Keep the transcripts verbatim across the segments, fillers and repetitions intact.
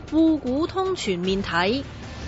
滬股通全面睇。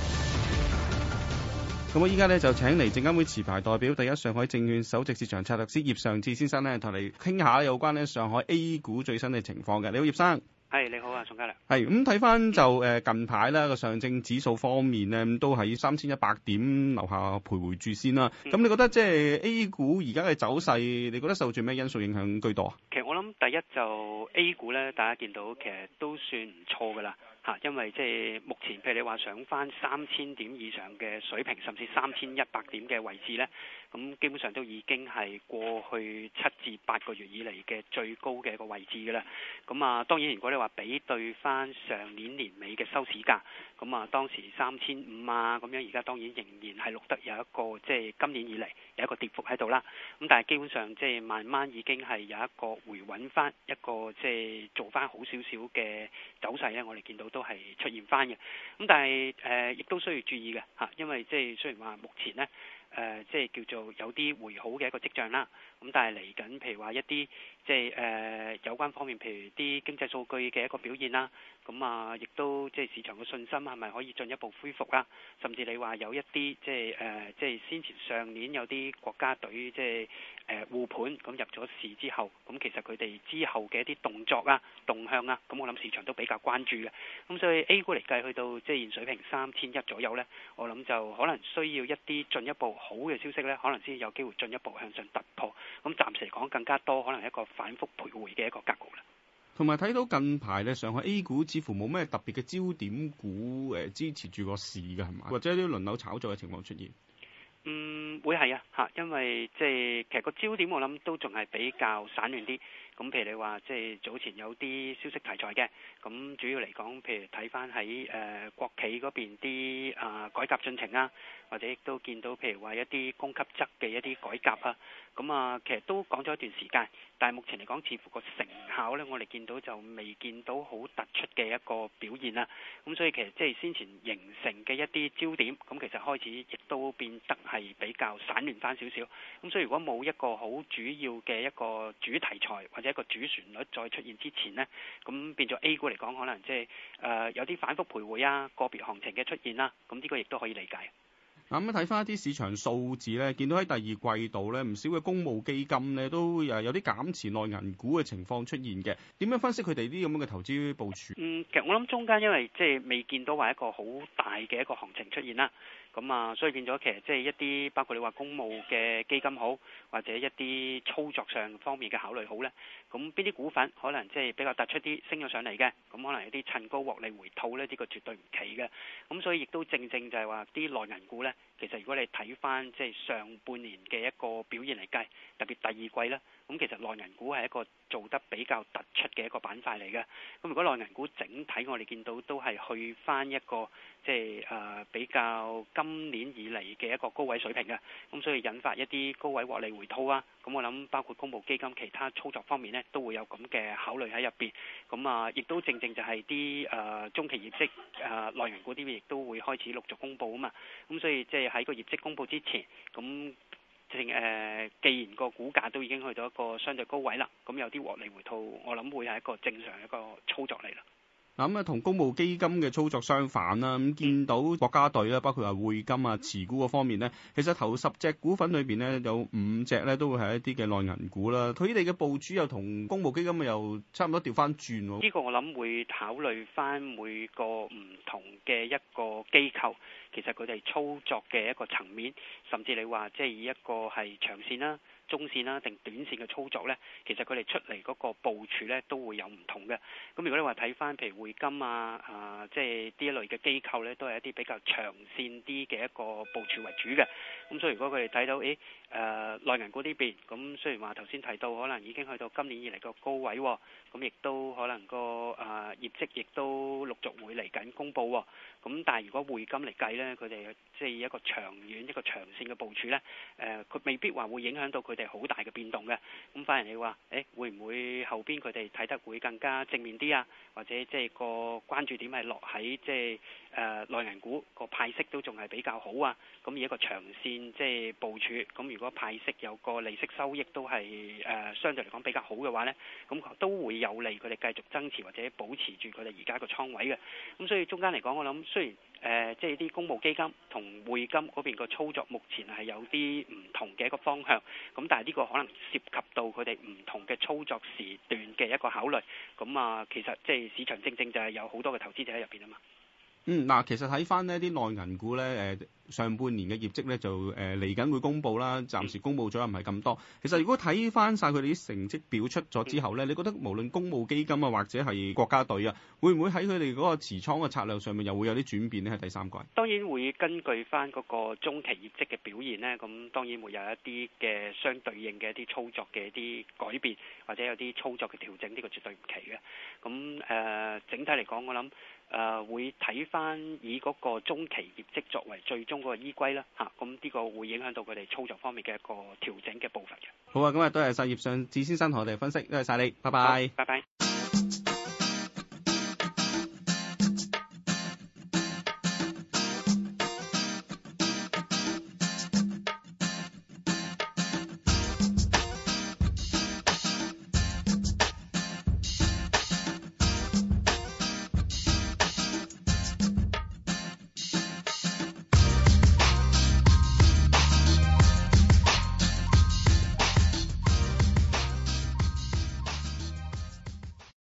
咁我依家咧就請嚟證監會持牌代表、第一上海證券首席市場策略師葉尚志先生咧，同你傾下有關咧上海 A 股最新嘅情況嘅。你好，葉生。 係，你好啊，宋嘉良。 係咁睇翻就誒近排啦個上證指數方面咧，都喺三千一百點樓下徘徊住先啦。咁、嗯、你覺得即係 A 股而家嘅走勢，你覺得受住咩因素影響居多啊？ 其實我諗第一就 A 股咧，大家見到其實都算唔錯噶啦嚇，因為即係目前譬如你話上翻三千點以上嘅水平，甚至三千一百點嘅位置咧，咁基本上都已經係過去七至八個月以嚟嘅最高嘅一個位置噶啦。咁啊，當然如果你話比對翻上年年尾嘅收市價，咁啊當時三千五啊咁樣，而家當然仍然係錄得有一個即係、就是、今年以嚟有一個跌幅喺度啦。咁但係基本上即係慢慢已經係有一個回穩翻一個即係做翻好少少嘅走勢咧，我哋見到都係出現翻嘅。咁但係誒亦都需要注意嘅嚇，因為即係雖然話目前咧。誒、呃，即係叫做有啲回好嘅一個跡象啦。咁但係嚟緊，譬如話一啲即係誒、呃、有關方面，譬如啲經濟數據嘅一個表現啦。咁啊，亦都即係市場嘅信心係咪可以進一步恢復啦？甚至你話有一啲即係誒，即係先前上年有啲國家隊即係誒護盤咁入咗市之後，咁其實佢哋之後嘅一啲動作啊、動向啊，咁我諗市場都比較關注嘅。咁所以 A 股嚟計去到即係現水平三千一左右呢，我諗就可能需要一啲進一步好嘅消息呢，可能先有機會進一步向上突破。咁暫時嚟講更加多可能一個反覆徘徊嘅一個格局啦。 同埋睇到近排咧，上海 A 股似乎冇咩特別嘅焦點股誒支持住個市嘅係嘛？或者啲輪流炒作嘅情況出現？ 嗯，會係啊嚇，因為即係其實個焦點我諗都仲係比較散亂啲。咁譬如你話即係早前有啲消息題材嘅，咁主要嚟講，譬如睇翻喺誒國企嗰邊啲啊改革進程啊，或者亦都見到譬如話一啲供給側嘅一啲改革啊，咁啊其實都講咗一段時間，但係目前嚟講似乎個成效咧，我哋見到就未見到好突出嘅一個表現啦。咁所以其實即係先前形成嘅一啲焦點，咁其實開始亦都變得係比較散亂翻少少。咁所以如果冇一個好主要嘅一個主題材或者一個主旋律再出現之前呢，咁變咗 A 股嚟講，可能即係誒有啲反覆徘徊啊，個別行情嘅出現啦，咁呢個亦都可以理解。 嗱咁睇翻一啲市場數字咧，見到喺第二季度咧，唔少嘅公募基金咧都誒有啲減持內銀股嘅情況出現嘅。點樣分析佢哋啲咁樣嘅投資部署？ 嗯，其實我諗中間因為即係未見到話一個好大嘅一個行情出現啦。咁啊，所以變咗其實即係一啲包括你話公募嘅基金好，或者一啲操作上方面嘅考慮好咧。咁邊啲股份可能即係比較突出啲升咗上嚟嘅，咁可能有啲趁高獲利回吐咧，呢個絕對唔奇嘅。咁所以亦都正正就係話啲內銀股咧，其實如果你睇翻即係上半年嘅一個表現嚟計，特別第二季咧，咁其實內銀股係一個做得比較突出嘅一個板塊嚟嘅。咁如果內銀股整體我哋見到都係去翻一個即係誒比較今年以嚟嘅一個高位水平嘅，咁所以引發一啲高位獲利回吐啊。咁我諗包括公募基金其他操作方面呢，都會有咁嘅考慮喺入邊。咁啊，亦都正正就係啲誒中期業績誒內銀股啲亦都會開始陸續公佈啊嘛。咁所以即係喺個業績公佈之前，咁正誒既然個股價都已經去到一個相對高位啦，咁有啲獲利回吐，我諗會係一個正常一個操作嚟啦。 嗱咁啊，同公募基金嘅操作相反啦，咁見到國家隊咧，包括話匯金啊、持股嗰方面咧，其實頭十隻股份裏邊咧，有五隻咧都會係一啲嘅內銀股啦。佢哋嘅部署又同公募基金又差唔多調翻轉喎。 呢個我諗會考慮翻每個唔同嘅一個機構，其實佢哋操作嘅一個層面，甚至你話即係以一個係長線啦、中線啦定短線嘅操作呢，其實佢哋出嚟嗰個部署呢都會有唔同嘅。咁如果你話睇翻譬如匯金啊、啊即係呢一類嘅機構呢，都係一啲比較長線啲嘅一個部署為主嘅。咁所以如果佢哋睇到誒誒內銀股呢邊，咁雖然話頭先提到可能已經去到今年以嚟個高位，咁亦都可能個誒、呃、業績亦都陸續會嚟緊公佈。咁但係如果匯金嚟計呢，佢哋即係一個長遠一個長線嘅部署呢，誒、呃、佢未必話會影響到佢哋好大嘅變動嘅。咁反而你話誒會唔會後邊佢哋睇得會更加正面啲啊？或者即係個關注點係落喺即係誒內銀股個派息都仲係比較好啊？咁以一個長線即係部署，咁如如果派息有個利息收益都係誒、呃、相對嚟講比較好嘅話呢，咁都會有利佢哋繼續增持或者保持住佢哋而家個倉位嘅。咁所以中間嚟講，我諗雖然誒、呃、即係啲公募基金同匯金嗰邊個操作目前係有啲唔同嘅一個方向，咁但係呢個可能涉及到佢哋唔同嘅操作時段嘅一個考慮。咁啊，其實即係市場正正就係有好多嘅投資者喺入邊啊嘛。 嗯，嗱，其實睇翻呢啲內銀股咧，誒上半年嘅業績咧就誒嚟緊會公布啦，暫時公布咗又唔係咁多。其實如果睇翻晒佢哋啲成績表出咗之後咧，你覺得無論公募基金啊或者係國家隊啊，會唔會喺佢哋嗰個持倉嘅策略上面又會有啲轉變呢？喺第三季當然會根據翻嗰個中期業績嘅表現呢，咁當然會有一啲嘅相對應嘅一啲操作嘅一啲改變，或者有啲操作嘅調整，呢、這個絕對唔奇嘅。咁誒、呃、整體嚟講，我諗。誒、呃、會睇翻以嗰個中期業績作為最終嗰個依歸啦，嚇，咁呢個會影響到佢哋操作方面嘅一個調整嘅步伐嘅。 好啊，咁啊，多謝晒葉尚志先生同我哋分析，多謝晒你，拜拜。 拜拜。